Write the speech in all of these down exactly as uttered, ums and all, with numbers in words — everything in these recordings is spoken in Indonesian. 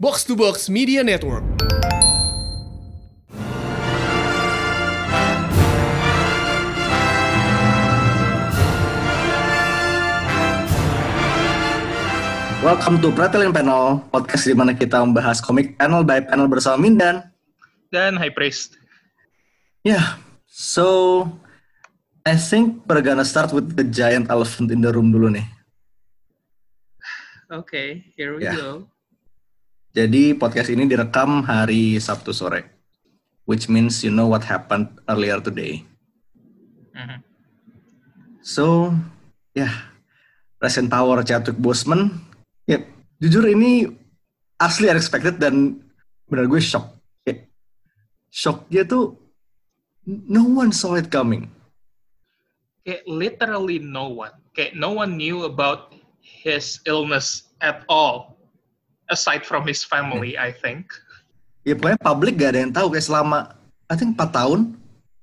Box to Box Media Network. Welcome to Pratilin Panel, podcast di mana kita membahas komik panel by panel bersama Mindan dan High Priest. Yeah, so I think we're gonna start with the giant elephant in the room dulu nih. Okay, here we yeah. go. Jadi podcast ini direkam hari Sabtu sore, which means you know what happened earlier today. Mm-hmm. So, ya, yeah, Present Power Chadwick Boseman. Ya, yeah, jujur ini asli unexpected dan benar gue shock. Yeah. Shocknya tuh no one saw it coming. Kayak literally no one. Kayak no one knew about his illness at all. Aside from his family, I think. Ya pokoknya publik gak ada yang tahu kayak selama, I think empat tahun.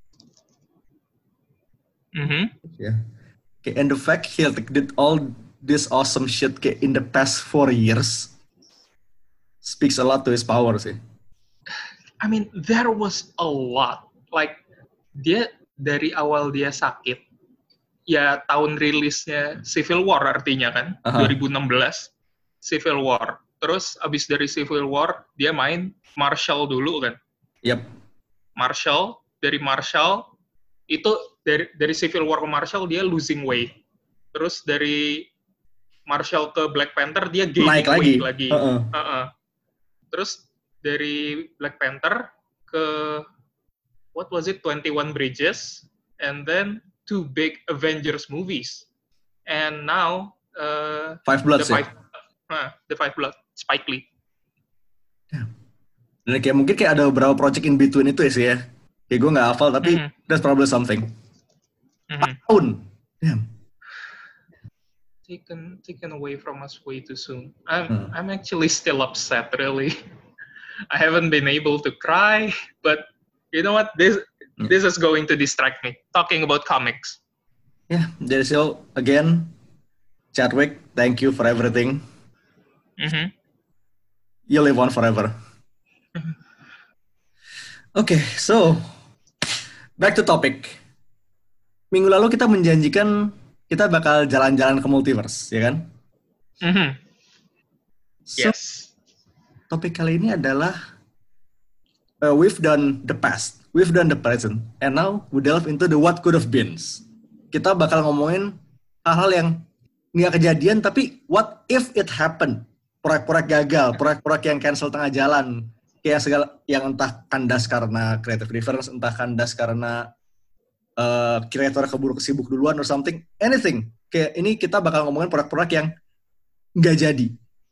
Mm-hmm. Yeah. Okay, and the fact he did all this awesome shit kayak in the past four years speaks a lot to his power sih. I mean, there was a lot. Like, dia dari awal dia sakit, ya tahun rilisnya Civil War artinya kan, uh-huh. dua ribu enam belas, Civil War. Terus abis dari Civil War, dia main Marshall dulu kan? Yep. Marshall, dari Marshall, itu dari dari Civil War ke Marshall, dia losing weight. Terus dari Marshall ke Black Panther, dia gaining Naik weight lagi. lagi. Uh-uh. Uh-uh. Terus dari Black Panther ke, what was it, twenty-one Bridges, and then two big Avengers movies. And now, uh, Five Bloods the ya? Five, uh, the Five Blood. Spike Lee. Dan kayak mungkin kayak ada beberapa project in between itu ya sih ya. Kayak gue gak hafal tapi mm-hmm. that's probably something. Mm-hmm. Tahun. Damn. Taken taken away from us way too soon. I'm hmm. I'm actually still upset really. I haven't been able to cry, but you know what? This mm. this is going to distract me. Talking about comics. Yeah, there is still again Chadwick, thank you for everything. Mm-hmm. You live on forever. Oke, okay, so back to topic. Minggu lalu kita menjanjikan kita bakal jalan-jalan ke multiverse, ya kan? Mm-hmm. So, yes. Topik kali ini adalah uh, we've done the past, we've done the present, and now we delve into the what could have been. Kita bakal ngomongin hal-hal yang nggak kejadian, tapi what if it happened? Proyek-proyek gagal, proyek-proyek yang cancel tengah jalan, kayak segala yang entah kandas karena creative difference, entah kandas karena uh, kreator keburu kesibuk duluan or something, anything. Kayak ini kita bakal ngomongin proyek-proyek yang nggak jadi.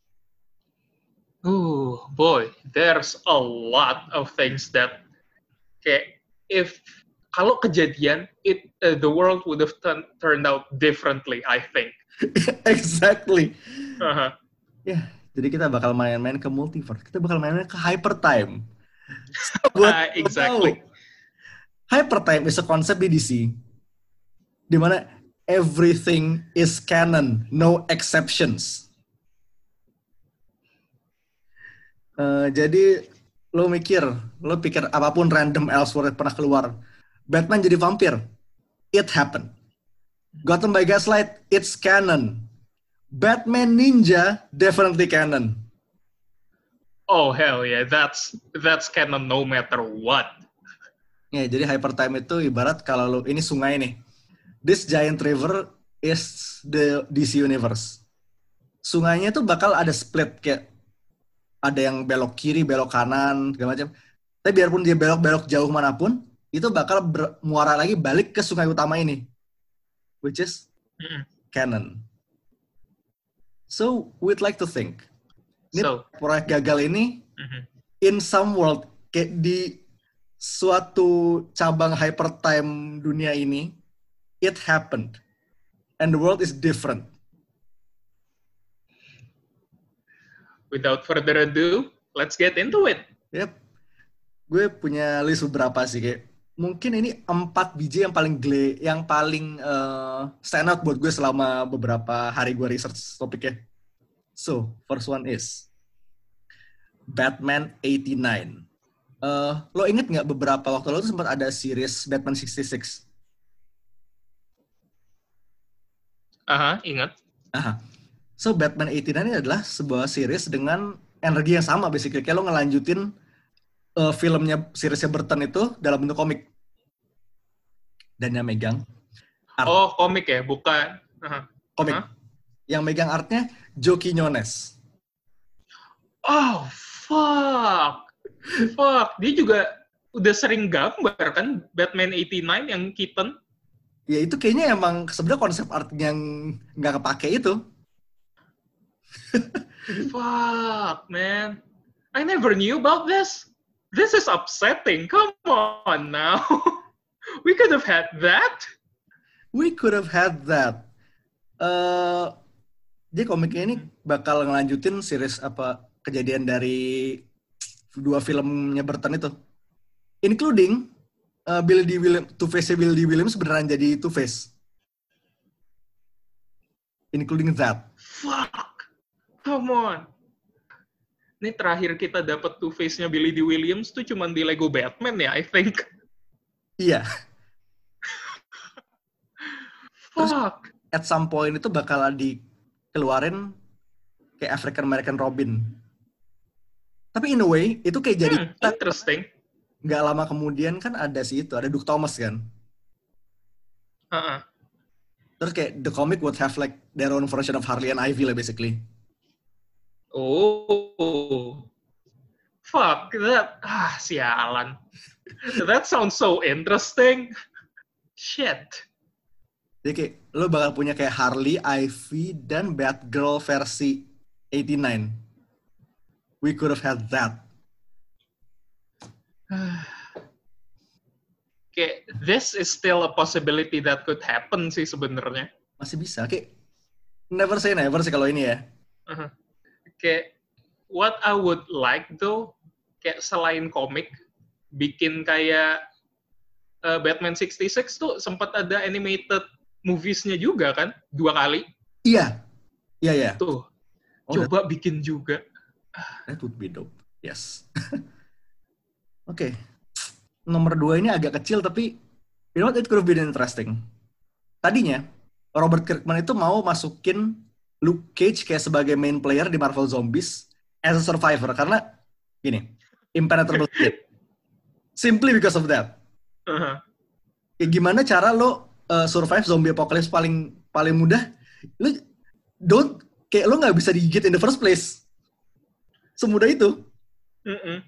Oh boy, there's a lot of things that kayak if kalau kejadian, it uh, the world would have t- turned out differently, I think. Exactly. Uh-huh. Ya, yeah, jadi kita bakal main-main ke multiverse. Kita bakal main-main ke hypertime. So, buat uh, exactly. Hypertime is a concept di D C di mana everything is canon, no exceptions. Uh, jadi lo mikir, lo pikir apapun random Elseworld pernah keluar. Batman jadi vampir, it happened. Gotham by Gaslight, it's canon. Batman Ninja, definitely canon. Oh hell yeah, that's that's canon no matter what. Ya, jadi hypertime itu ibarat kalau lo ini sungai nih. This giant river is the D C universe. Sungainya tuh bakal ada split kayak ada yang belok kiri, belok kanan, segala macam. Tapi biarpun dia belok-belok jauh manapun, itu bakal bermuara lagi balik ke sungai utama ini, which is mm. canon. So, we'd like to think, ini so, proyek gagal ini, mm-hmm. in some world, kayak di suatu cabang hypertime dunia ini, it happened. And the world is different. Without further ado, let's get into it. Yep. Gue punya list beberapa sih, kayak mungkin ini empat biji yang paling gle, yang paling uh, stand out buat gue selama beberapa hari gue research topiknya. So, first one is Batman eighty-nine. Uh, lo inget nggak beberapa waktu lalu tuh sempat ada series Batman sixty-six? Aha, ingat. Aha. So Batman eighty-nine ini adalah sebuah series dengan energi yang sama basically. Kayak lo ngelanjutin uh, filmnya seriesnya Burton itu dalam bentuk komik. Dan yang megang art. Oh, komik ya, bukan. Aha. Komik. Aha. Yang megang artnya Joe Quinones. Oh, fuck. Fuck, dia juga udah sering gambar kan Batman eighty-nine yang Keaton. Ya itu kayaknya emang sebenarnya konsep art yang nggak kepake itu. Fuck, man. I never knew about this. This is upsetting. Come on now. We could have had that. We could have had that. Uh, dia komiknya ini bakal ngelanjutin series apa kejadian dari dua filmnya Burton itu, including uh, Billy D. Williams, Two-Face Billy D. Williams beneran jadi Two-Face, including that. Fuck, come on. Ini terakhir kita dapat Two-Face-nya Billy D. Williams tuh cuma di Lego Batman ya, I think. Iya. Terus, fuck. At some point itu bakal dikeluarin kayak African American Robin. Tapi in a way, itu kayak jadi... Hmm, interesting. Nggak lama kemudian kan ada si itu, ada Duke Thomas kan? Uh-uh. Terus kayak the comic would have like their own version of Harley and Ivy lah basically. Oh. Fuck, that... Ah, sialan. That sounds so interesting. Shit. Jadi kayak, lo bakal punya kayak Harley, Ivy, dan Batgirl versi eighty-nine. We could have had that. Kayak, this is still a possibility that could happen sih sebenarnya. Masih bisa. Kayak, never say never sih kalau ini ya. Uh-huh. Kayak, what I would like though, kayak selain komik, bikin kayak uh, Batman sixty-six tuh sempat ada animated movies-nya juga kan? Dua kali. Iya. Iya, iya. Tuh. Oh, coba that, bikin juga. That would be dope. Yes. Oke. Okay. Nomor dua ini agak kecil, tapi you know what, it could have been interesting. Tadinya, Robert Kirkman itu mau masukin Luke Cage kayak sebagai main player di Marvel Zombies as a survivor. Karena, gini, impenetrable kid. Simply because of that. Uh-huh. Kayak gimana cara lo uh, survive zombie apocalypse paling paling mudah? Lo don't, kayak lo nggak bisa digigit in the first place. Semudah itu. Mm-mm.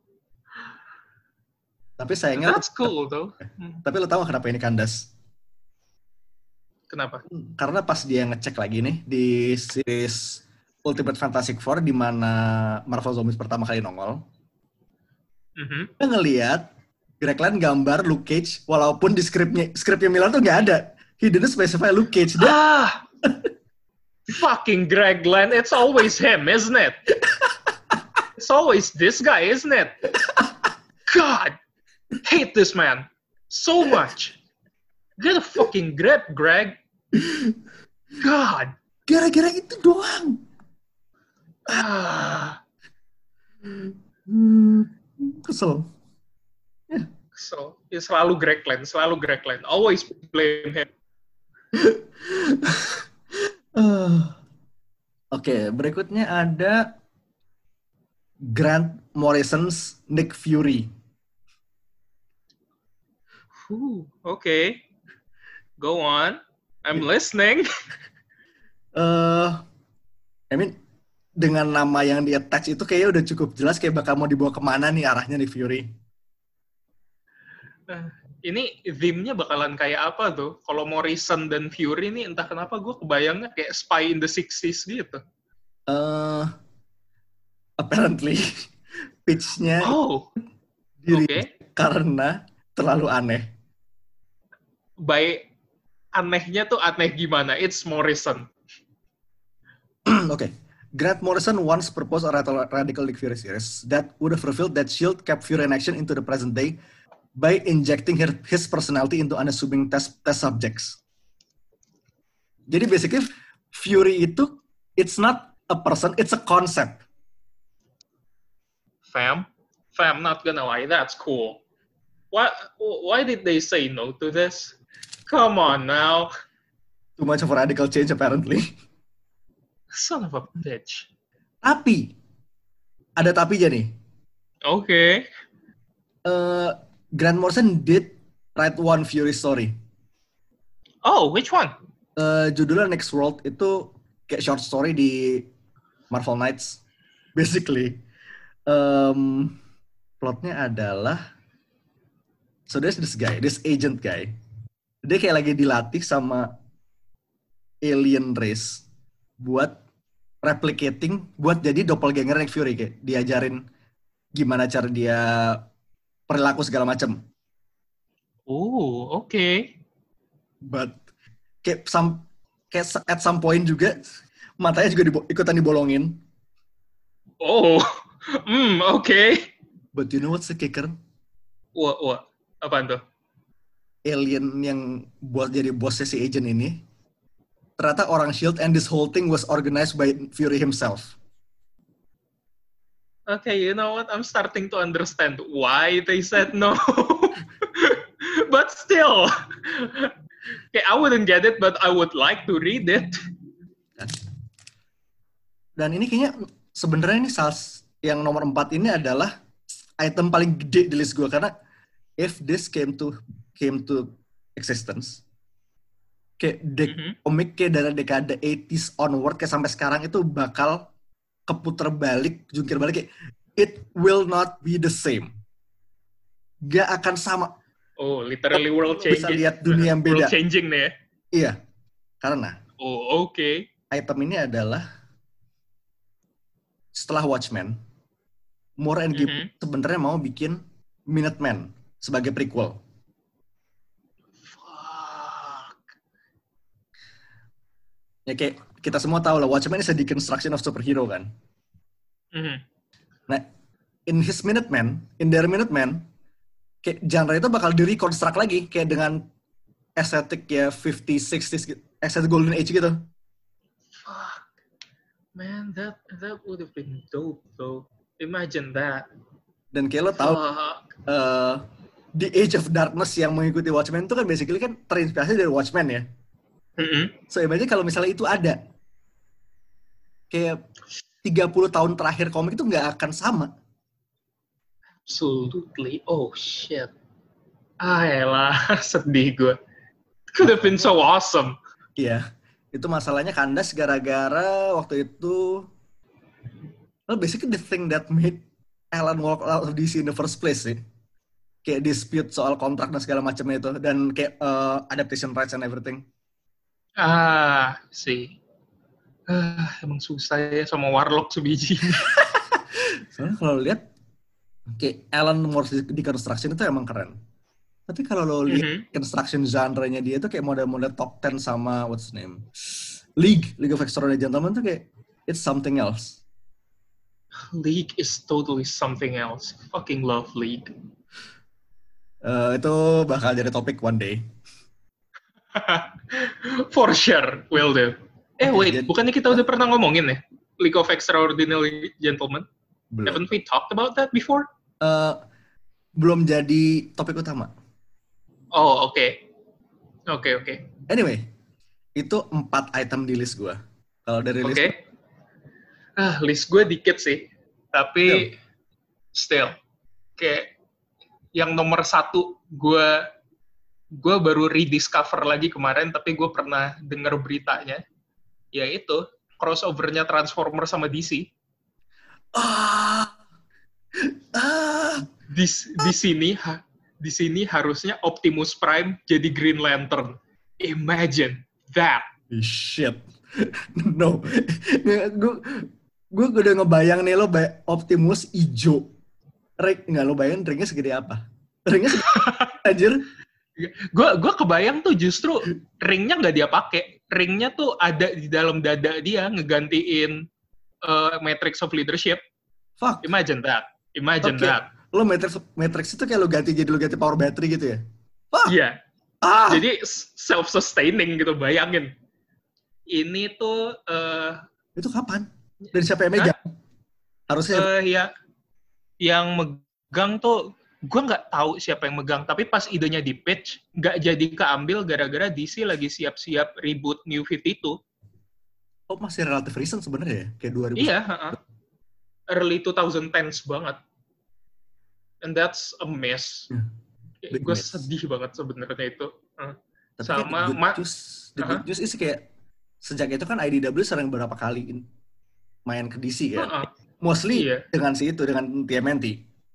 Tapi sayangnya... That's cool, though. Tapi lo tahu kenapa ini kandas? Kenapa? Karena pas dia ngecek lagi nih di series Ultimate Fantastic Four di mana Marvel Zombies pertama kali nongol, mm-hmm. dia ngelihat Greg Land gambar Luke Cage walaupun di skripnya skripnya Miller tuh nggak ada. He didn't specify Luke Cage. Dia... Ah, fucking Greg Land. It's always him, isn't it? It's always this guy, isn't it? God, hate this man so much. Get a fucking grip, Greg. God. Gara-gara itu doang. Ah. Hmm, kesel. Yeah. Kesel. Ya, selalu Greg Land, selalu Greg Land. Always blame him. uh. Oke, okay, berikutnya ada Grant Morrison's Nick Fury. Ooh, okay. Go on. I'm listening. Uh, I mean, dengan nama yang di-attach itu kayaknya udah cukup jelas kayak bakal mau dibawa kemana nih arahnya Nick Fury. Uh, ini theme-nya bakalan kayak apa tuh? Kalau Morrison dan Fury nih entah kenapa gue kebayangnya kayak Spy in the sixties gitu. Uh, apparently pitch-nya oh, diri okay. Karena terlalu aneh. By anehnya tuh aneh gimana? It's Morrison. Oke. Okay. Grant Morrison once proposed a radical Nick Fury series that would have revealed that S H I E L D kept Fury in action into the present day by injecting her, his personality into unassuming test, test subjects. Jadi basically Fury itu it's not a person, it's a concept. fam, fam, not gonna lie, that's cool. Why, why did they say no to this? Come on now. Too much of a radical change apparently. Son of a bitch. Tapi, ada tapinya nih. Oke. Okay. Uh, Grant Morrison did write one Fury story. Oh, which one? Uh, judulnya Next World, itu kayak short story di Marvel Knights. Basically, um, plotnya adalah, so there's this guy, this agent guy. Dia kayak lagi dilatih sama alien race buat replicating, buat jadi doppelganger Nick Fury, kayak diajarin gimana cara dia perilaku segala macam. Oh, oke. Okay. But kayak some, kayak at some point juga matanya juga dibo- ikutan dibolongin. Oh, hmm, oke. Okay. But you know what's the kicker? Wah, wah, apaan tuh? Alien yang buat jadi bosnya si agent ini ternyata orang S H I E L D, and this whole thing was organized by Fury himself. Okay, you know what? I'm starting to understand why they said no. But still, okay, I wouldn't get it, but I would like to read it. Dan ini kayaknya sebenarnya ini salah yang nomor empat ini adalah item paling gede di list gue, karena if this came to came to existence, kayak dek mm-hmm. komik kayak dari dekade eighties onward kayak sampai sekarang itu bakal keputer balik, jungkir balik, kayak it will not be the same. Gak akan sama. Oh, literally world changing. Bisa lihat dunia yang beda. World changing nih ya? Iya. Karena oh, oke. Okay. Item ini adalah setelah Watchmen, Moore and Gibbons mm-hmm. sebenarnya mau bikin Minutemen sebagai prequel. Ya kayak kita semua tahu lah, Watchmen is a deconstruction of superhero kan. Mm-hmm. Nah, in his Minutemen, in their Minutemen, kayak genre itu bakal di-reconstruct lagi, kayak dengan estetik ya fifties, sixties, estetik Golden Age gitu. Fuck. Man, that that would have been dope though. Imagine that. Dan kayak lo tahu, uh, The Age of Darkness yang mengikuti Watchmen itu kan basically kan terinspirasi dari Watchmen ya. Mm-hmm. So, imagine kalau misalnya itu ada. Kayak tiga puluh tahun terakhir komik itu nggak akan sama. Absolutely. Oh, shit. Ah, elah. Sedih gue. Could have been so awesome. Iya. Itu masalahnya kandas gara-gara waktu itu, well, basically the thing that made Alan walk out of D C in the first place sih. Kayak dispute soal kontrak dan segala macamnya itu. Dan kayak uh, adaptation rights and everything. Ah, sih. Uh, emang susah ya sama Warlock sebiji. Soalnya kalau lihat kayak Alan Moore di construction itu emang keren. Tapi kalau lo lihat mm-hmm. construction genre-nya dia itu kayak model-model top ten sama what's the name? League, League of Extraordinary Gentlemen tuh kayak it's something else. League is totally something else. Fucking love League. Uh, itu bakal jadi topik one day. For sure, will do. Eh okay, wait, jadi, bukannya kita udah pernah ngomongin ya? League of Extraordinary Gentlemen? Belum. Haven't we talked about that before? Uh, belum jadi topik utama. Oh, oke. Okay. Oke, okay, oke. Okay. Anyway, itu empat item di list gue. Kalau dari list... Oke. Okay. Ah, list gue dikit sih. Tapi, still. still. Kayak, yang nomor satu, gue gue baru rediscover lagi kemarin, tapi gue pernah denger beritanya, yaitu crossover-nya Transformer sama D C. Ah, ah, di di sini ha, di sini harusnya Optimus Prime jadi Green Lantern. Imagine that. Shit. No. Gue gue udah ngebayang nih lo Optimus ijo. Ring nggak lo bayangin ringnya segede apa? Ringnya segede anjir. Gue gue kebayang tuh justru ringnya nggak dia pakai, ringnya tuh ada di dalam dada dia ngegantiin uh, Matrix of Leadership. Fuck. Imagine that. Imagine okay. that. Lo Matrix Matrix itu kayak lo ganti jadi lo ganti power battery gitu ya? Fuck. Iya. Ah. Jadi self-sustaining gitu, bayangin. Ini tuh. Uh, itu kapan? Dan siapa yang megang? Harusnya. Uh, ya. yang megang tuh gue nggak tahu siapa yang megang, tapi pas idenya di pitch nggak jadi keambil gara-gara D C lagi siap-siap reboot New fifty-two. Oh, masih relatif recent sebenarnya ya, kayak dua ribu. Iya, uh-uh. early twenty tens banget. And that's a mess. Hmm. Gue sedih banget sebenarnya itu. Uh. Tapi sama the good ma- news, the good news is kayak sejak itu kan I D W sering beberapa kali main ke D C kan. Uh-uh. Mostly iya. dengan si itu, dengan T M N T.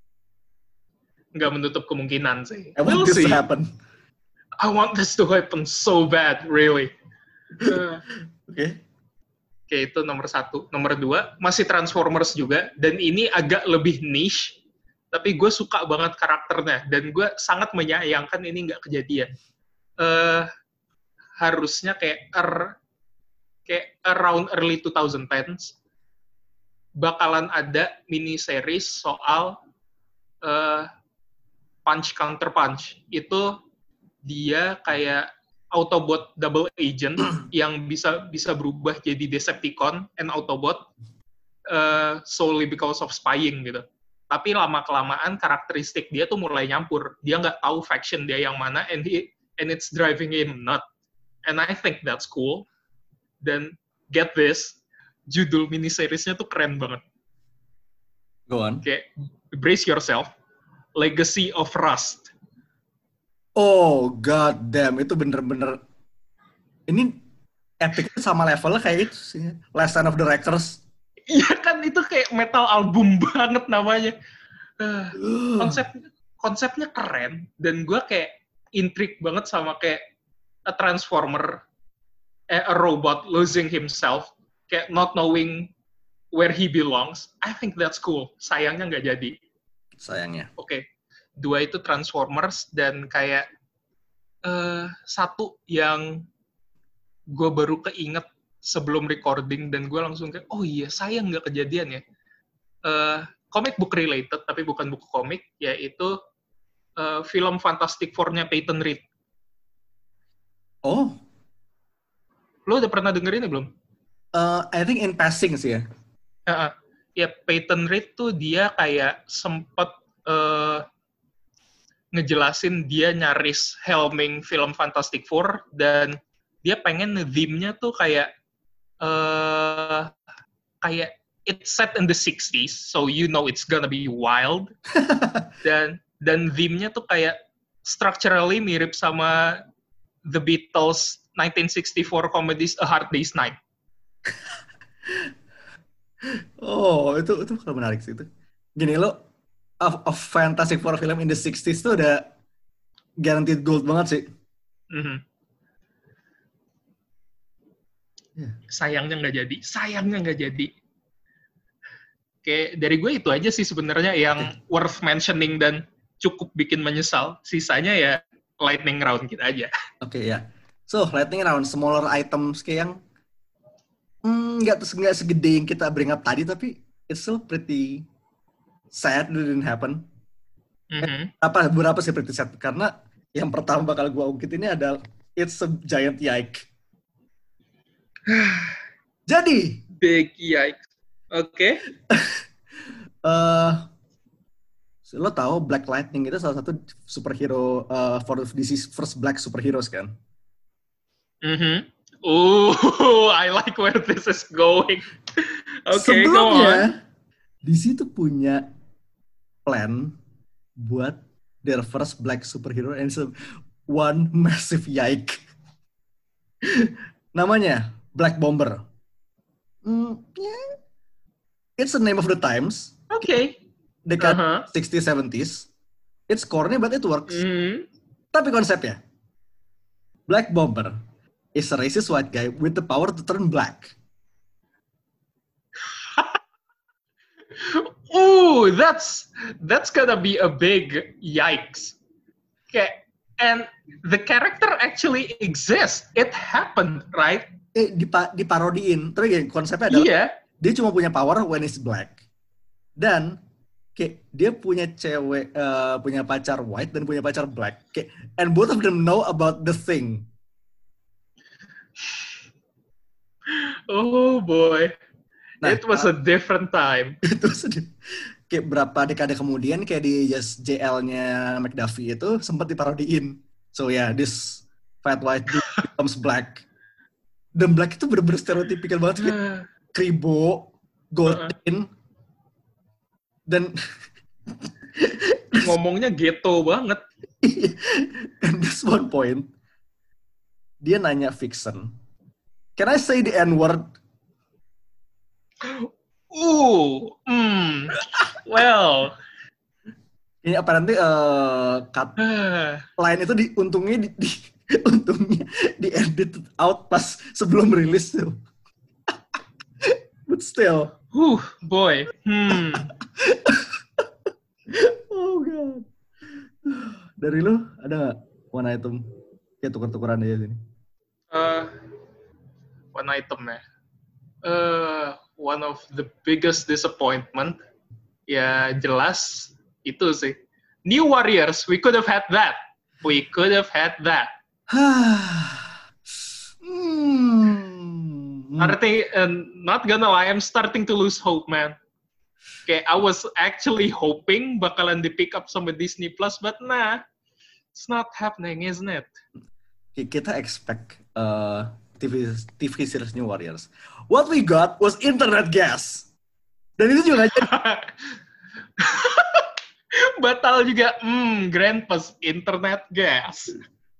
Nggak menutup kemungkinan sih. I want we'll this see. to happen. I want this to happen so bad, really. Uh, Oke. Okay. Oke, itu nomor satu. Nomor dua, masih Transformers juga. Dan ini agak lebih niche. Tapi gue suka banget karakternya. Dan gue sangat menyayangkan ini nggak kejadian. Uh, harusnya kayak, er, kayak around early twenty tens, bakalan ada mini-series soal uh, Punch Counter Punch. Itu dia kayak Autobot double agent yang bisa bisa berubah jadi Decepticon and Autobot uh, solely because of spying gitu. Tapi lama-kelamaan karakteristik dia tuh mulai nyampur. Dia nggak tahu faction dia yang mana, and he, and it's driving him nuts. And I think that's cool. Dan get this, judul mini-seriesnya tuh keren banget. Go on. Kayak, brace yourself. Legacy of Rust. Oh, god damn. Itu bener-bener... Ini epicnya sama levelnya kayak itu sih. Last Stand of the Wreckers. Iya kan, itu kayak metal album banget namanya. Uh, konsep konsepnya keren. Dan gue kayak intrigue banget sama kayak a transformer, a robot losing himself. Kayak not knowing where he belongs. I think that's cool. Sayangnya nggak jadi. Sayangnya. Oke, okay. Dua itu Transformers, dan kayak uh, satu yang gue baru keinget sebelum recording, dan gue langsung kayak, oh iya, sayang nggak kejadian ya. Uh, comic book related, tapi bukan buku komik, yaitu uh, film Fantastic Four-nya Peyton Reed. Oh? Lo udah pernah dengerin ya belum? Uh, I think in passing sih ya. Uh, ya, Peyton Reed tuh dia kayak sempet uh, ngejelasin dia nyaris helming film Fantastic Four, dan dia pengen theme-nya tuh kayak uh, kayak it's set in the sixties, so you know it's gonna be wild. dan dan theme-nya tuh kayak structurally mirip sama The Beatles nineteen sixty-four comedies A Hard Day's Night. Oh, itu itu bakal menarik sih itu. Gini lo, a, a Fantastic Four film in the sixties tuh udah guaranteed gold banget sih. Mm-hmm. Yeah. Sayangnya nggak jadi, sayangnya nggak jadi. Oke, dari gue itu aja sih sebenarnya yang okay. worth mentioning dan cukup bikin menyesal. Sisanya ya lightning round kita aja. Oke okay, ya. Yeah. So lightning round, smaller items kayak yang nggak hmm, nggak segede yang kita bring up tadi, tapi it's still pretty sad it didn't happen. Mm-hmm. Apa berapa sih pretty sad? Karena yang pertama bakal gue ungkit ini adalah it's a giant yike. Jadi big yike. Oke. Okay. uh, lo tahu Black Lightning itu salah satu superhero uh, for D C's first black superheroes kan? Mhm. Oh, I like where this is going. Okay, go on. D C tuh punya plan buat their first black superhero, and so one massive yike. Namanya Black Bomber. Mm, yeah. It's the name of the times. Okay. Dekat uh-huh. sixties, seventies. It's corny but it works. Mm-hmm. Tapi konsepnya, Black Bomber is a racist white guy with the power to turn black. Ooh, that's that's gonna be a big yikes. Okay, and the character actually exists. It happened, right? Eh, dipa- diparodiin. Terus gini, konsepnya adalah yeah. dia cuma punya power when he's black. Dan kayak dia punya cewek, uh, punya pacar white dan punya pacar black. Kayak, and both of them know about the thing. Oh boy. Nah, it was a different time. Itu sedih. kayak berapa dekade kemudian kayak di Just J L-nya McDuffie itu sempat diparodiin. So yeah, this fat white dude becomes black. Dan black itu bener-bener stereotypical banget. Kayak kribo, gold chain, dan ngomongnya ghetto banget. And this one point, dia nanya Vixen, "Can I say the N-word?" Uh, hmm, well. Ini apparently uh, cut line itu di, untungnya di, di untungnya di edit out pas sebelum rilis tuh. But still. Uh, boy. Hmm. Oh god. Dari lu ada nggak one item kayak tuker-tukeran aja sini? Uh, one item ya. Uh, one of the biggest disappointment. Ya jelas itu sih. New Warriors, we could have had that. We could have had that. hmm. Starting, and not gonna lie, I'm starting to lose hope, man. Okay, I was actually hoping bakalan di pick up sama Disney Plus, but nah, it's not happening, isn't it? Kita expect uh, T V T V series New Warriors. What we got was internet gas. Dan itu juga aja. Batal juga, hmm, Grandpa's internet gas.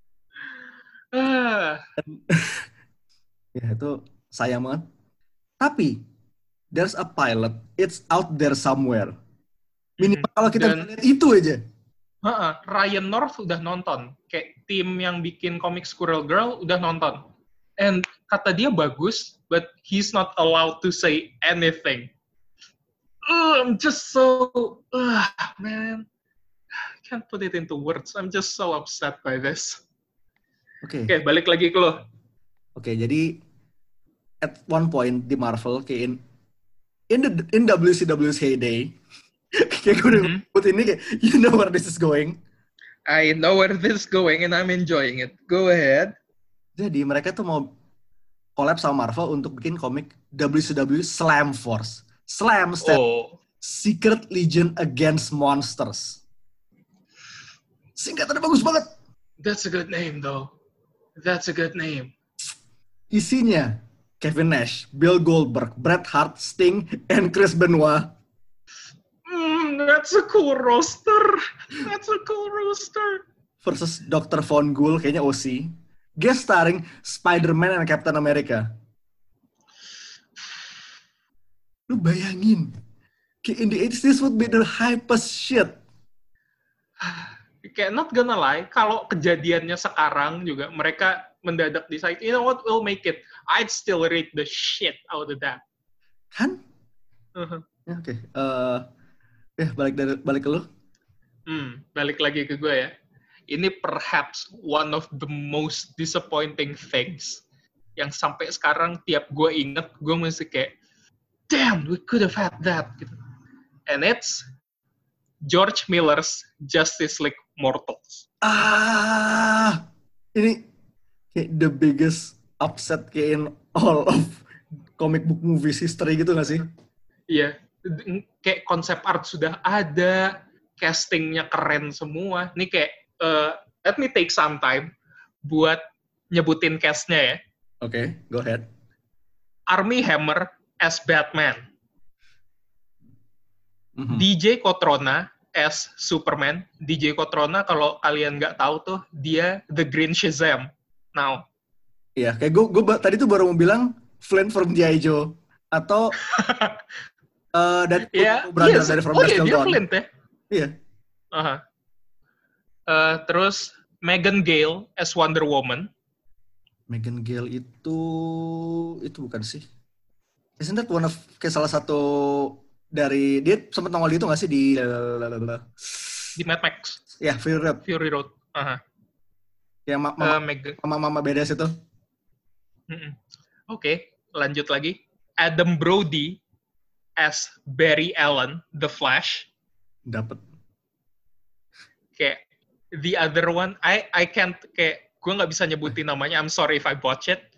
Ah. Ya itu sayang banget. Tapi there's a pilot, it's out there somewhere. Minimal mm-hmm. kalau kita Dan, lihat itu aja. Uh-uh, Ryan North udah nonton, kayak tim yang bikin komik Squirrel Girl udah nonton. And kata dia bagus, but he's not allowed to say anything. Uh, I'm just so, uh, man, I can't put it into words. I'm just so upset by this. Oke. Okay. Oke, okay, balik lagi ke lo. Oke, okay, jadi at one point di Marvel, kayak in, in the in W C W's heyday, kayak gue udah mm-hmm. put ini kayak, you know where this is going. I know where this is going and I'm enjoying it. Go ahead. Jadi mereka tuh mau collab sama Marvel untuk bikin komik W C W Slam Force. Slam stand oh. Secret Legion Against Monsters. Singkatannya bagus banget. That's a good name though. That's a good name. Isinya Kevin Nash, Bill Goldberg, Bret Hart, Sting, and Chris Benoit. Mm, that's a cool roster. That's a cool roster. Versus Doctor Von Ghoul, kayaknya O C. Guest starring Spider-Man and Captain America. Lu bayangin, kayak in the eighties, this would be the hypest shit. Kayak not gonna lie, kalau kejadiannya sekarang juga, mereka mendadak decide, you know what, we'll make it. I'd still read the shit out of that. Kan? Uh-huh. Ya, oke. Okay. Uh, ya, balik, dari, balik ke lu. Hmm, balik lagi ke gue ya. Ini perhaps one of the most disappointing things yang sampai sekarang tiap gue inget, gue mesti kayak, damn, we could have had that. Gitu. And it's George Miller's Justice League Mortals. Ah, ini kayak the biggest upset kayak in all of comic book movies history gitu gak sih? Iya, kayak konsep art sudah ada, castingnya keren semua. Ini kayak, uh, let me take some time buat nyebutin cast-nya ya. Oke, okay, go ahead. Armie Hammer as Batman. Mm-hmm. D J Cotrona as Superman. D J Cotrona kalau kalian nggak tahu tuh, dia The Green Shazam. Now. Iya, kayak gue, gue tadi tuh baru mau bilang Flint from G I. Joe. Atau uh, dan yeah, brother yes. dari From Oh Dusk iya, Till dia Dawn. Flint ya? Iya. Uh-huh. Uh, terus Megan Gale as Wonder Woman. Megan Gale itu, itu bukan sih? Isn't that one of, kayak salah satu dari, dia sempat nongol itu nggak sih di di Mad Max? Ya, yeah, Fury Road. Fury Road. Uh-huh. Yang ma- mama, uh, Meg- mama-mama bedes itu. Oke, okay, lanjut lagi. Adam Brody as Barry Allen, The Flash. Dapat. Kayak the other one, I I can't, kayak gue nggak bisa nyebutin namanya. I'm sorry if I botch it.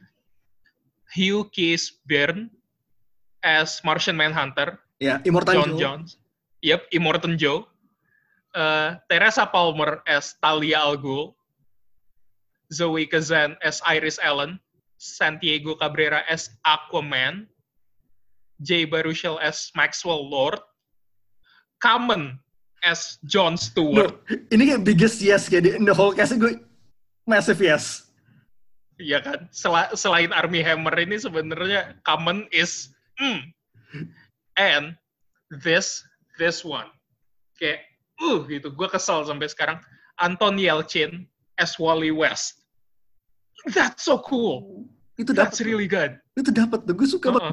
Hugh Keys Byrne as Martian Manhunter. Ya, Immortan John Joe. Jones. Yep, Immortan Joe. Uh, Teresa Palmer as Talia al Ghul. Zoe Kazan as Iris Ellen. Santiago Cabrera as Aquaman. Jay Baruchel as Maxwell Lord. Kamen as Jon Stewart. No, ini kayak biggest yes kayak di in the whole cast gue massive yes. Iya kan? Sel- selain Armie Hammer ini sebenarnya Kamen is mm. And this this one kayak uh gitu. Gue kesel sampai sekarang. Anton Yelchin as Wally West. That's so cool. Itu That's dapet, really good. Itu dapat tuh. Gue suka Uh-uh. banget.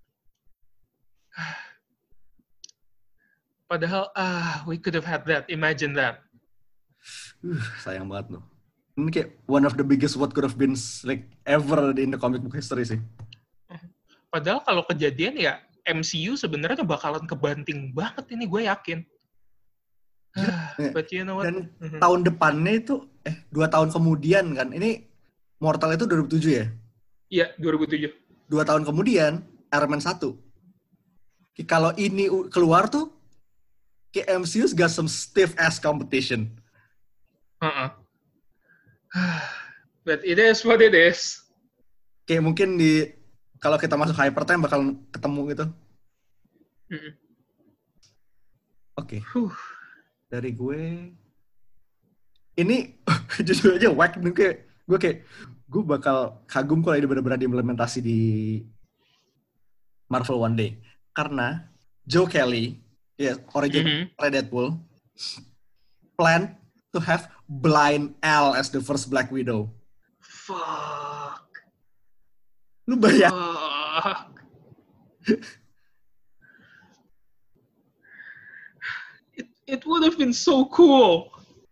Padahal ah we could have had that. Imagine that. Uh, sayang banget loh. Ini kayak one of the biggest what could have been like ever in the comic book history sih. Padahal kalau kejadian ya M C U sebenarnya bakalan kebanting banget ini, gue yakin. But you know what? Dan Mm-hmm. tahun depannya itu eh dua tahun kemudian kan. Ini Mortal itu dua ribu tujuh ya? Iya, dua ribu tujuh. Dua tahun kemudian Iron Man satu. Kalau ini keluar tuh kayak M C U's got some stiff ass competition. Uh-uh. But it is what it is. Kayak mungkin di kalau kita masuk hypertime bakal ketemu gitu. Mm-mm. Oke. Okay. Huh. Dari gue ini jujur aja whack nih kayak gue kayak gue bakal kagum kalau ini benar-benar diimplementasi di Marvel one day. Karena Joe Kelly, ya yeah, origin mm-hmm. Deadpool, plan to have Blind Al as the first Black Widow. Fuck. Lu bayang? Fuck. it, it would have been so cool.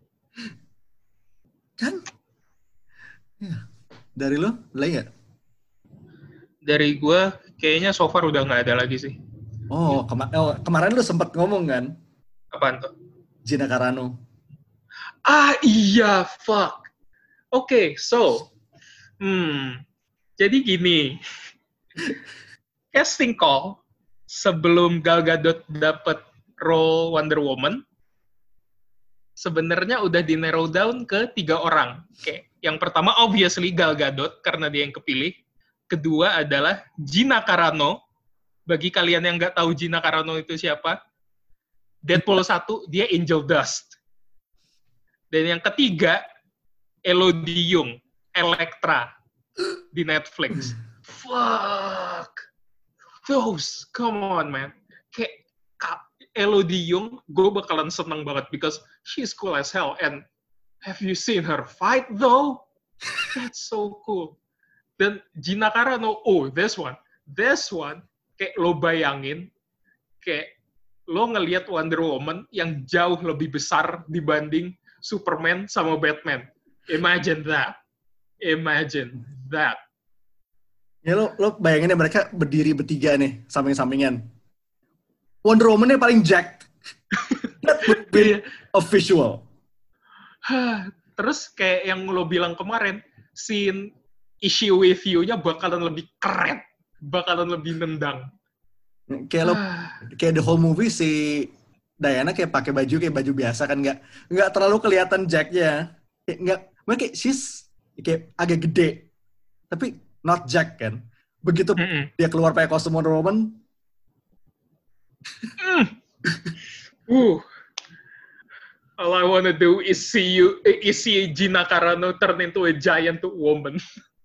Kan? Ya. Dari lo, lagi nggak? Dari gue, kayaknya so far udah nggak ada lagi sih. Oh, kema- oh, kemarin lu sempat ngomong kan? Apaan tuh? Gina Carano. Ah iya, fuck. Oke, okay, so, hmm, jadi gini, casting call sebelum Gal Gadot dapat role Wonder Woman, sebenarnya udah di narrow down ke tiga orang. Oke, okay. Yang pertama obviously Gal Gadot karena dia yang kepilih. Kedua adalah Gina Carano. Bagi kalian yang nggak tahu Gina Carano itu siapa, Deadpool satu dia Angel Dust. Dan yang ketiga, Elodie Yung, Elektra di Netflix. Fuck. Those, come on man. Kayak Elodie Yung, gue bakalan seneng banget because she's cool as hell. And have you seen her fight though? That's so cool. Dan Gina Carano, oh this one, this one, kayak lo bayangin, kayak lo ngelihat Wonder Woman yang jauh lebih besar dibanding Superman sama Batman. Imagine that. Imagine that. Ya lo, lo bayangin ya mereka berdiri bertiga nih, samping-sampingan. Wonder Woman-nya paling jacked. That would be a visual. Terus kayak yang lo bilang kemarin, scene issue with you-nya bakalan lebih keren. Bakalan lebih nendang. Kayak lo, kayak the whole movie si Diana kayak pakai baju kayak baju biasa kan, nggak nggak terlalu kelihatan Jack-nya, kayak nggak, kayak she's kayak agak gede, tapi not Jack kan. Begitu mm-mm. dia keluar pakai kostum Wonder Woman, mm. uh, all I wanna do is see you, is see Gina Carano turn into a giant woman.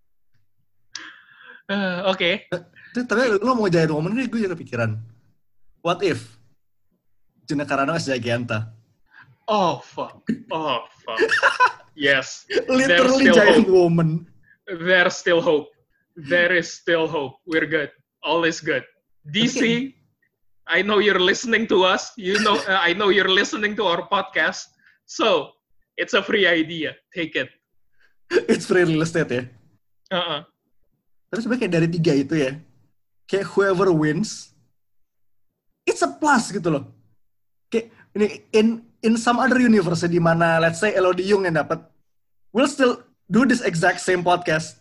uh, Oke. Okay. Tapi lo mau giant woman, gue juga kepikiran. What if Gina Carano as Giganta? Oh fuck! Oh fuck! Yes, literally giant hope. Woman. There's still hope. There is still hope. We're good. All is good. D C, okay. I know you're listening to us. You know, uh, I know you're listening to our podcast. So it's a free idea. Take it. It's free real estate ya. Uh-uh. Terus sebenarnya kayak dari tiga itu ya, kayak whoever wins, it's a plus gitu loh. Kayak ini in in some other universe di mana let's say Elodie Yung yang dapat, we'll still do this exact same podcast.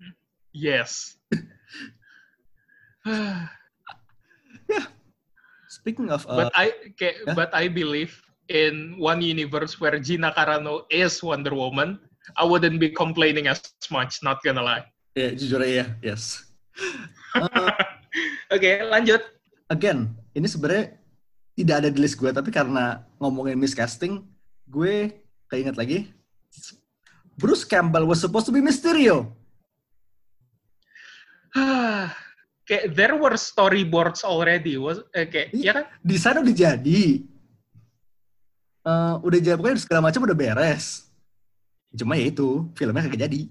Yes. Ya. Speaking of, uh, but I kayak, yeah? but I believe in one universe where Gina Carano is Wonder Woman, I wouldn't be complaining as much. Not gonna lie. Ya, yeah, jujur aja, yes. Uh, Oke, okay, lanjut. Again, ini sebenarnya tidak ada di list gue, tapi karena ngomongin miscasting, gue keinget lagi. Bruce Campbell was supposed to be Mysterio. Kayak there were storyboards already, was eh, kayak ya kan? Desain udah jadi, uh, udah jadi pokoknya segala macam udah beres. Cuma ya itu filmnya kagak jadi.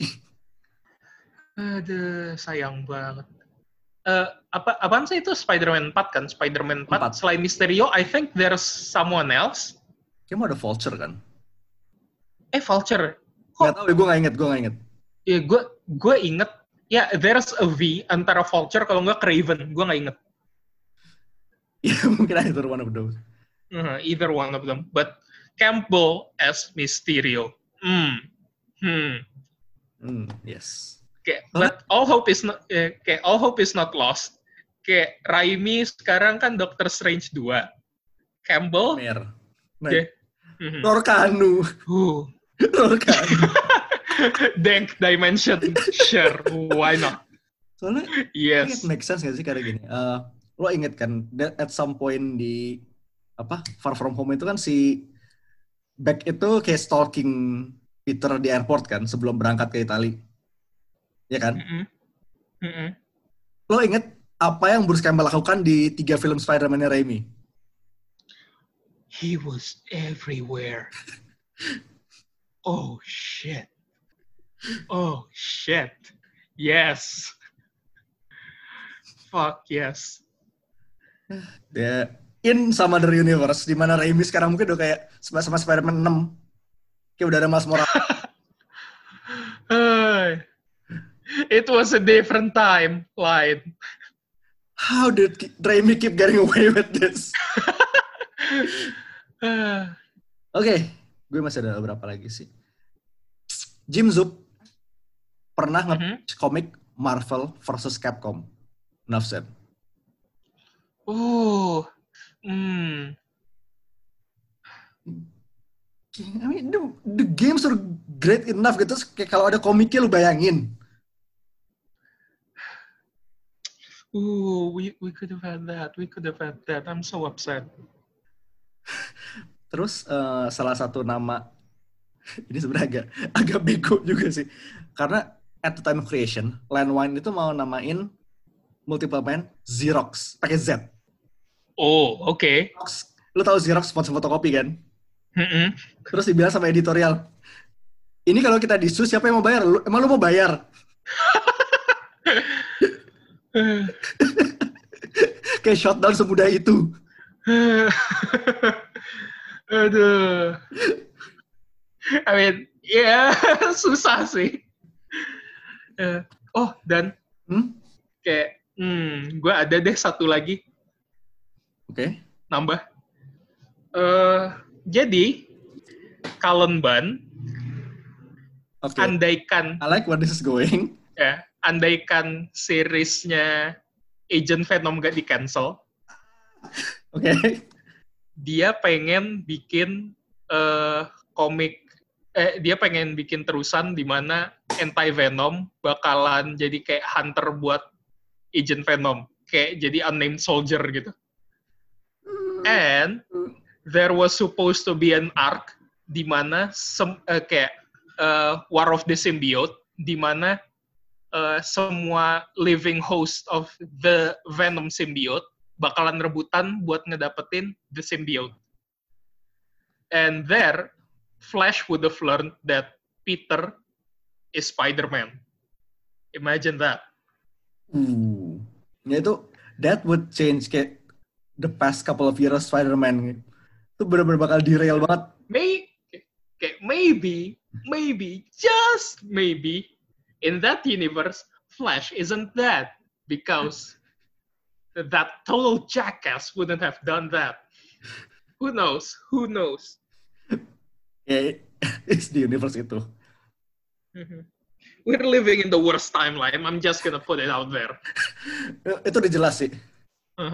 Aduh, sayang banget. Uh, apa apaan sih itu Spider-Man empat kan? Spider-Man empat. empat. Selain Mysterio, I think there's someone else. Kayaknya mau ada Vulture kan? Eh Vulture? Kok? Gak tau ya, gue gak inget, gue gak inget. Ya gue gue inget. Ya, yeah, there's a V antara Vulture kalau nggak Kraven. Gue nggak inget. Ya, mungkin either one of those. Uh, either one of them. But Campbell as Mysterio. Hmm. Hmm. Hmm, yes. Okay, but all hope is not eh, okay, all hope is not lost. Kayak Raimi sekarang kan Doctor Strange dua. Campbell Mer. Yeah. Mm-hmm. Lorcanu. Uh. Lorcanu. Dank Dimension, sure, why not? Soalnya, yes. It makes sense gak sih karena gini, uh, lo inget kan, that at some point di, apa, Far From Home itu kan si Beck itu kayak stalking Peter di airport kan, sebelum berangkat ke Itali. Ya kan? Mm-mm. Mm-mm. Lo inget apa yang Bruce Campbell lakukan di tiga film Spider-Man-nya Raimi? He was everywhere. Oh, shit. Oh, shit. Yes. Fuck, yes. Dia in sama The Universe, di mana Raimi sekarang mungkin udah kayak sama Spider-Man enam. Kayak udah ada Miles Morales. It was a different time, Light. How did Raimi keep getting away with this? Oke, okay, gue masih ada beberapa lagi sih. Jim Zub pernah mm-hmm. nge-pitch komik Marvel versus Capcom. Enough said. Oh, hmm. I mean, the, the games are great enough gitu. Kayak kalau ada komiknya lu bayangin. Ooh, we we could have had that. We could have had that. I'm so upset. Terus uh, salah satu nama ini sebenarnya agak agak bego juga sih. Karena at the time of creation, Landwine itu mau namain Multiple Man Xerox pakai Z. Oh, oke. Okay. Lu tahu Xerox sponsor fotokopi kan? Mm-mm. Terus dibilang sama editorial, ini kalau kita disu siapa yang mau bayar? Lu, emang lu mau bayar? Kayak shutdown semudah itu. Aduh. I mean, ya yeah, susah sih. Uh, oh, dan hmm? kayak, hmm, gue ada deh satu lagi. Oke. Okay. Nambah. Uh, jadi, Cullen Bunn, okay. andaikan... I like where this is going. Ya, andaikan seriesnya Agent Venom gak di-cancel. Oke. Okay. Dia pengen bikin uh, komik, eh, dia pengen bikin terusan di mana Anti-Venom bakalan jadi kayak hunter buat Agent Venom. Kayak jadi unnamed soldier gitu. And there was supposed to be an arc di mana sem- uh, kayak uh, War of the Symbiote, di mana uh, semua living host of the Venom symbiote bakalan rebutan buat ngedapetin the symbiote. And there, Flash would have learned that Peter is Spider-Man. Imagine that. Hmm. Ya itu, that would change kayak the past couple of years Spider-Man. Itu benar-benar bakal derail banget. May, okay, maybe, maybe, just maybe, in that universe, Flash isn't that. Because that total jackass wouldn't have done that. Who knows? Who knows? Yeah, it's the universe itu. Mm-hmm. We're living in the worst timeline. I'm just gonna put it out there. Itu udah jelas sih. Uh-huh.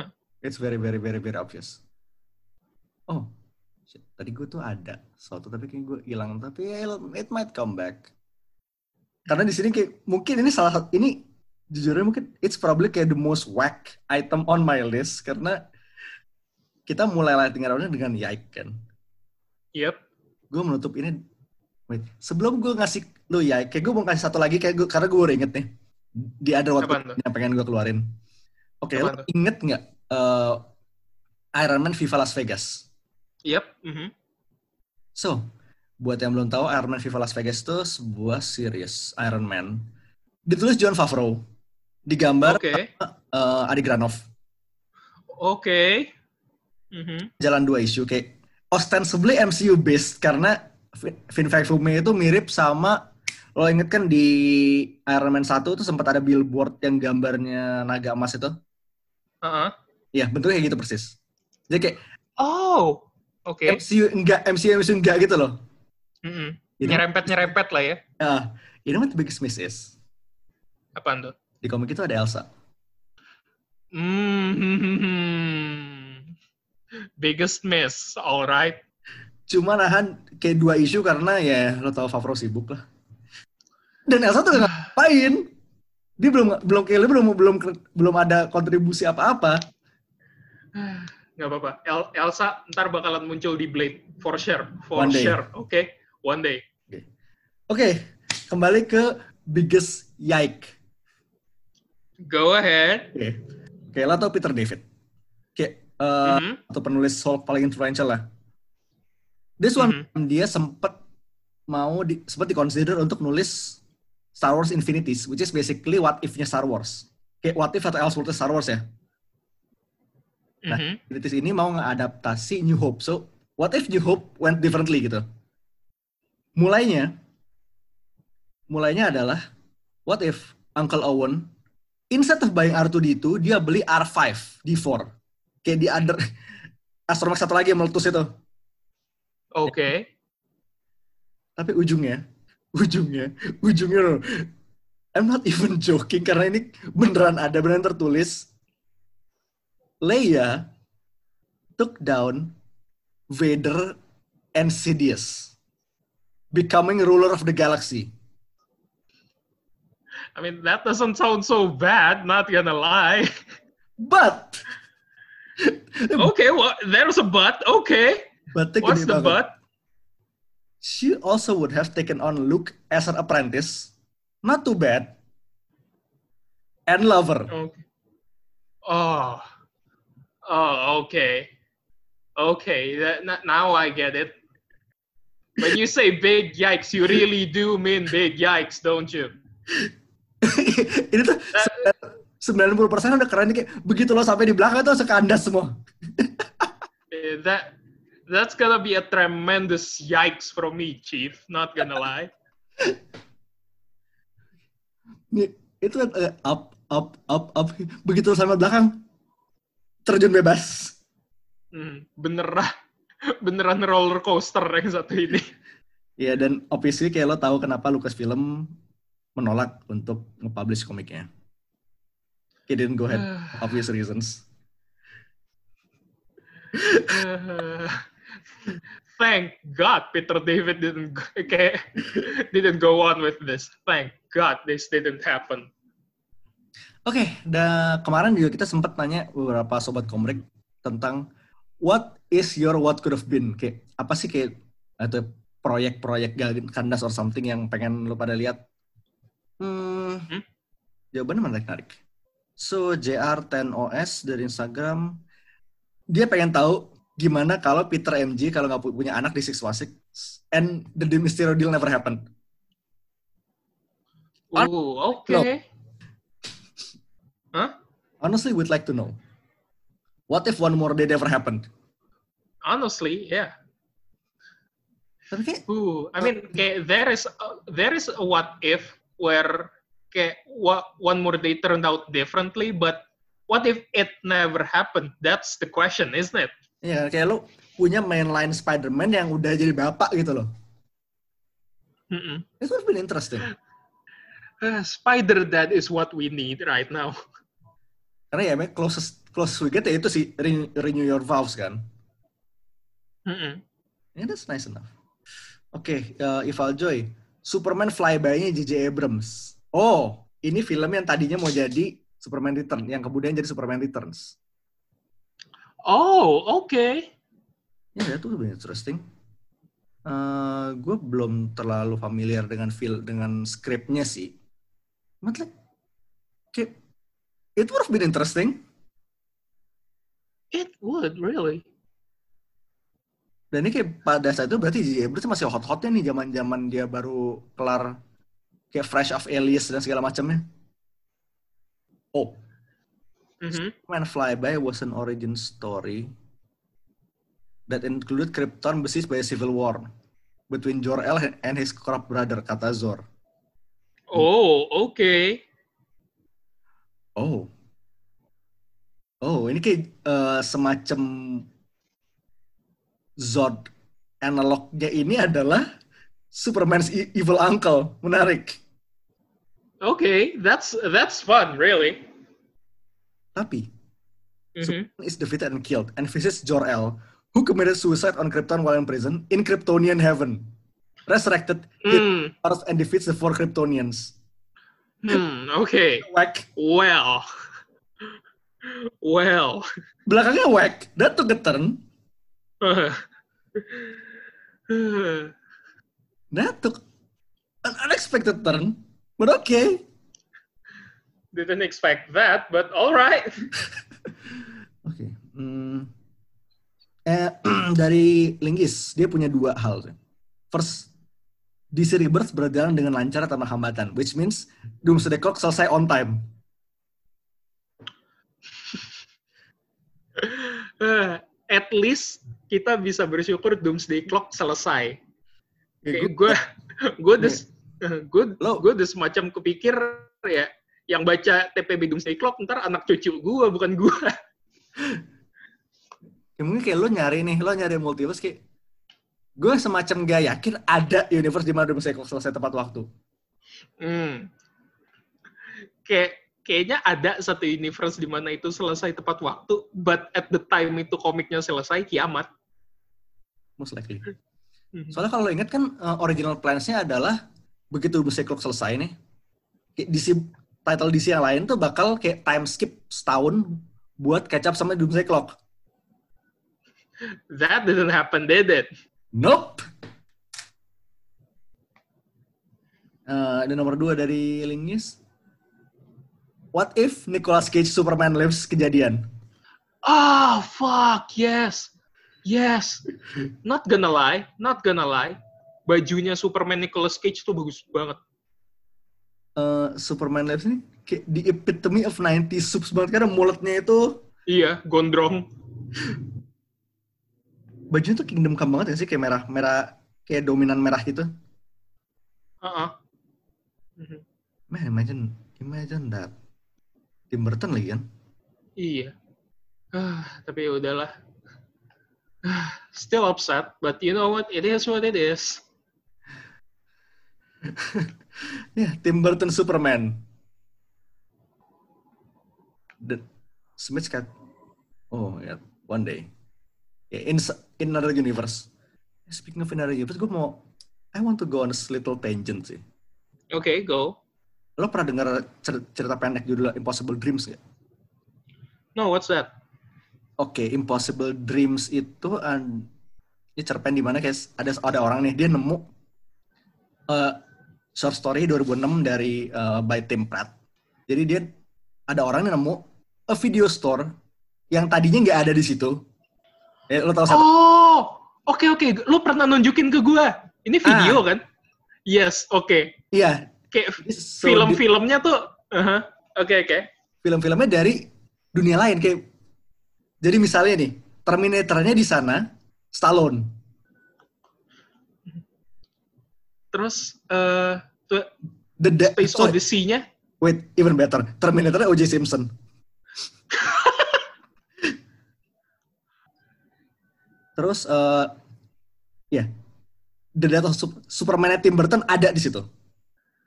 It's very very very very obvious. Oh, shit. Tadi gue tuh ada suatu tapi kayak gue hilang, tapi it might come back. Karena di sini kayak mungkin ini salah satu ini jujurnya mungkin it's probably kayak the most whack item on my list karena kita mulai lighting round-nya dengan Yike kan. Yep. Gue menutup ini. Wait, sebelum gue ngasih lu Yike, kayak gue mau kasih satu lagi kayak gue karena gue udah inget nih di ada waktu yang pengen gue keluarin. Oke, okay, lo inget nggak uh, Iron Man Viva Las Vegas? Yep. Mm-hmm. So, buat yang belum tahu, Iron Man Viva Las Vegas itu sebuah series Iron Man. Ditulis Jon Favreau, digambar okay. uh, Adi Granov. Oke. Okay. Mm-hmm. Jalan dua isu kayak ostensibly M C U based karena Vin Fifty itu mirip sama, lo inget kan di Iron Man satu tuh sempat ada billboard yang gambarnya naga emas itu? Uh-huh. Iya, bentuknya kayak gitu persis. Jadi kayak oh. Oke. Okay. M C U enggak, M C U M C U enggak gitu loh. Mm-hmm. Nyerempet-nyerempet lah ya. Ya, uh, you know what the biggest miss is? Apaan tuh? Di komik itu ada Elsa. Mm-hmm. Biggest miss, alright. Cuma nahan kayak dua isu karena ya lo tau Favreau sibuk lah. Dan Elsa tuh nggak ngapain. Dia belum belum kayak belum belum belum ada kontribusi apa-apa. Nggak apa-apa. El- Elsa ntar bakalan muncul di Blade for sure, for one sure. Oke, okay? One day. Oke, okay. okay. Kembali ke biggest Yike. Go ahead. Oke, okay. okay, lo tau Peter David. Kayak uh, mm-hmm. atau penulis Hulk paling influential lah. This one mm-hmm. dia sempat mau di, sempat dikonsider untuk nulis Star Wars Infinities, which is basically what if-nya Star Wars. Kayak what if atau Elseworld Star Wars ya. Nah, mm-hmm. Infinities ini mau ngeadaptasi New Hope. So, what if New Hope went differently gitu? Mulainya, mulainya adalah, what if Uncle Owen, instead of buying R two D two, dia beli R five D four. Kayak di other, Astromech satu lagi yang meletus itu. Oke. Okay. Tapi ujungnya, ujungnya, ujungnya loh. I'm not even joking, karena ini beneran ada, beneran tertulis. Leia took down Vader and Sidious, becoming ruler of the galaxy. I mean, that doesn't sound so bad, not gonna lie. But! Okay, well, there's a but, okay. But what's the but? She also would have taken on Luke as an apprentice. Not too bad. And lover. Okay. Oh. Oh, okay. Okay, that, now I get it. When you say big yikes, you really do mean big yikes, don't you? Ini tuh that, sembilan puluh persen udah keren kayak begitu lo sampai di belakang tuh sekandas semua. that that's gonna be a tremendous yikes from me, Chief. Not gonna lie. Itu kan uh, up, up, up, up. Begitu lo sampai belakang terjun bebas. Hmm, beneran, beneran roller coaster yang satu ini. Iya, dan obviously kayak lo tahu kenapa Lucasfilm menolak untuk nge-publish komiknya. He didn't go ahead, obvious reasons. Uh, thank God Peter David didn't kayak didn't go on with this. Thank God this didn't happen. Oke, okay, dan kemarin juga kita sempat nanya beberapa sobat komik tentang what is your what could have been, kayak apa sih kayak atau proyek-proyek kandas or something yang pengen lo pada lihat. Hmm, hmm? Jawabannya menarik-narik. So J R ten O S dari Instagram, dia pengen tahu gimana kalau Peter M J kalau nggak punya anak di six one six and the Mysterio deal never happened. Oh, oke. Okay. Huh? Honestly, we'd like to know. What if one more day never happened? Honestly, yeah. Okay. Ooh, I mean, okay, there is a, there is a what if where okay, what one more day turned out differently, but what if it never happened? That's the question, isn't it? Iya, yeah, kayak lo punya mainline Spider-Man yang udah jadi bapak gitu loh. Mm-mm. It would have been interesting. Uh, Spider-Dad is what we need right now. Karena ya, closest close we get ya itu sih renew, renew your vows kan. Mm-mm. Yeah, that's nice enough. Oke, okay, uh, Ival Joy, Superman Flyby-nya J J Abrams. Oh, ini film yang tadinya mau jadi Superman Returns, yang kemudian jadi Superman Returns. Oh, oke. Okay. Ya, itu lebih interesting. Uh, gue belum terlalu familiar dengan feel dengan skripnya sih. But like, okay, it would have been interesting. It would, really. Dan ini kayak pada saat itu berarti J J Abrams masih hot-hotnya nih, zaman-zaman dia baru kelar kayak Fresh of Alias dan segala macamnya. Oh. Mm-hmm. Superman Flyby was an origin story that included Krypton besieged by a civil war between Jor-El and his corrupt brother, kata Zor. Oh, oke. Okay. Oh. Oh, ini kayak uh, semacam Zod. Analognya ini adalah Superman's evil uncle. Menarik. Okay, that's that's fun, really. Tapi, mm-hmm. Superman is defeated and killed and visits Jor-El, who committed suicide on Krypton while in prison in Kryptonian heaven. Resurrected, mm. kills and defeats the four Kryptonians. Hmm, okay. Whack. Well. Well. Belakangnya whack. That took a turn. That took an unexpected turn. But okay. Didn't expect that, but all right. Oke. Okay. Hmm. Eh, dari Linggis, dia punya dua hal. First, D C Rebirth berjalan dengan lancar tanpa hambatan, which means Doomsday Clock selesai on time. Uh, at least kita bisa bersyukur Doomsday Clock selesai. Kayak gue, gue udah, gue, gue udah semacam kepikir ya, yang baca T P B Doomsday Clock ntar anak cucu gue, bukan gue. Ya mungkin kayak lo nyari nih, lo nyari multiverse kayak, gue semacam gak yakin ada universe di mana Doomsday Clock selesai tepat waktu. Hmm. Kayak kayaknya ada satu universe di mana itu selesai tepat waktu, but at the time itu komiknya selesai, kiamat. Most likely. Soalnya kalau lo ingat kan uh, original plans-nya adalah begitu Doomsday Clock selesai nih, D C, title D C yang lain tuh bakal kayak time skip setahun buat catch up sama Doomsday Clock. That didn't happen, did it? Nope. Uh, ada nomor dua dari Linggis. What if Nicolas Cage Superman lives kejadian? Ah, oh, fuck, yes. Yes. Not gonna lie, not gonna lie. Bajunya Superman Nicolas Cage tuh bagus banget. Uh, Superman lives ini kayak the epitome of nineties subs banget, karena mulutnya itu. Iya, gondrong. Bajunya tuh Kingdom Come banget ya sih, kayak merah-merah, kayak dominan merah gitu. Uh-uh. Man, imagine, imagine that. Tim Burton lagi kan? Iya. Ah, tapi ya udahlah. Ah, still upset, but you know what? It is what it is. Ya, yeah, Tim Burton Superman. The Smith cat. Oh ya, yeah, one day. Yeah, in in another universe. Speaking of another universe, gue mau, I want to go on a little tangent sih. Oke, okay, go. Lo pernah dengar cerita pendek judulnya Impossible Dreams nggak? No, what's that? Oke, okay, Impossible Dreams itu an, ini cerpen di mana kayak ada ada orang nih, dia nemu uh, short story dua ribu enam dari uh, by Tim Pratt. Jadi dia ada orang yang nemu a video store yang tadinya nggak ada di situ. Eh, lo tahu siapa? Oh, oke okay, oke. Okay. Lo pernah nunjukin ke gue. Ini video ah. kan? Yes, oke. Okay. Iya. Kayak so, film-filmnya tuh, oke uh-huh. oke. Okay, okay. Film-filmnya dari dunia lain kayak. Jadi misalnya nih, Terminator-nya di sana, Stallone. Terus, uh, tuh, The de- Space sorry. Odyssey-nya? Wait, even better. Terminator-nya O J Simpson. Terus, uh, ya, yeah. The Death of Sup- Superman-nya Tim Burton ada di situ.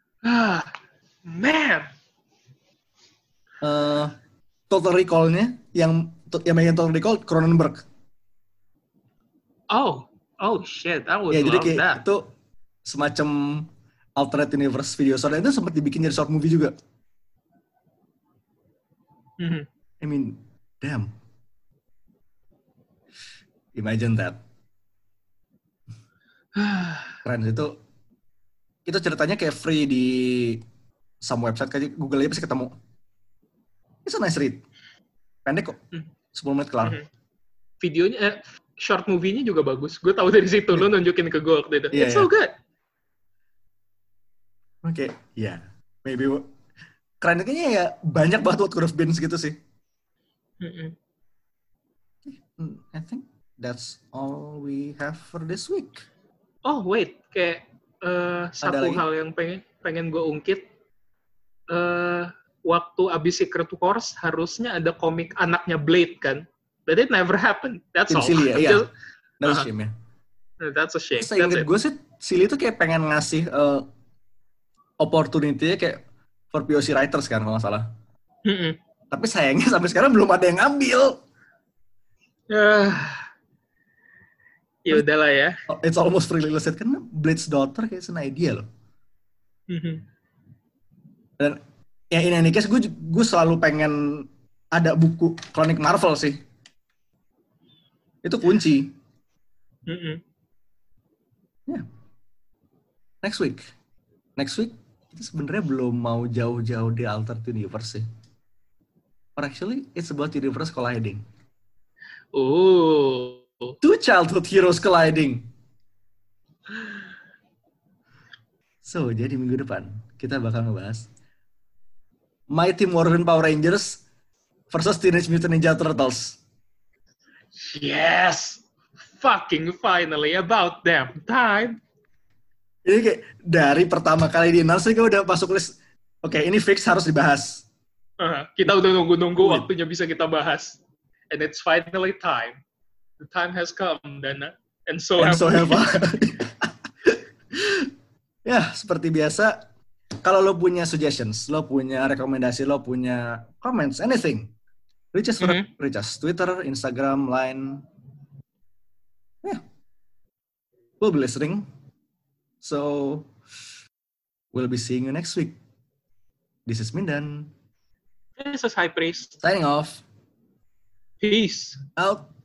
Ah, man. Uh, Total Recall-nya yang yang main Total Recall Cronenberg. Oh, oh shit, I would Ya, jadi love kayak that. itu semacam alternate universe video short, itu sempat dibikin jadi short movie juga. Mhm. I mean, damn. Imagine that. Keren itu. Itu ceritanya kayak free di some website, kayak Google aja pasti ketemu. It's a nice read. Pendek kok. sepuluh menit kelar. Mhm. Videonya, eh, short movie-nya juga bagus. Gue tahu dari situ, lo nunjukin ke gue waktu itu. Yeah, It's so yeah. good. Oke, okay. ya. Yeah. Maybe keren kayaknya ya, banyak banget what could have been gitu sih. Mm-mm. I think that's all we have for this week. Oh wait, kayak uh, satu lagi? hal yang pengen pengen gue ungkit. Uh, waktu abis Secret Wars harusnya ada komik anaknya Blade kan, but it never happened. That's Tim all. Silly ya, iya. Just, That's uh-huh. a shame ya. That's a shame. Saya ingat gue sih, Silly itu kayak pengen ngasih uh, opportunity-nya kayak for P O C writers kan, kalau nggak salah. Mm-mm. Tapi sayangnya sampai sekarang belum ada yang ngambil. Uh, ya udahlah ya. It's almost fully illustrated kan, Blade's Daughter kayak an idea loh. Mm-hmm. Dan ya in any case gue gue selalu pengen ada buku Chronic Marvel sih. Itu kunci. Mm-hmm. Yeah. Next week. Next week itu sebenarnya belum mau jauh-jauh di alternate universe sih. Or actually it's about universe colliding. Oh. Two childhood heroes colliding. So, jadi minggu depan kita bakal ngebahas Mighty Morphin Power Rangers versus Teenage Mutant Ninja Turtles. Yes! Fucking finally, about damn time. Ini kayak dari pertama kali di announce kayak udah masuk list. Oke, okay, ini fix harus dibahas. Uh, kita udah nunggu-nunggu waktunya bisa kita bahas. And it's finally time. The time has come, Dana. And so And have so we. have I. Ya, seperti biasa, kalau lo punya suggestions, lo punya rekomendasi, lo punya comments, anything, reach us, mm-hmm. reach us. Twitter, Instagram, Line. Yeah. We'll be listening. So, we'll be seeing you next week. This is Mindan. This is High Priest. Signing off. Peace. Out.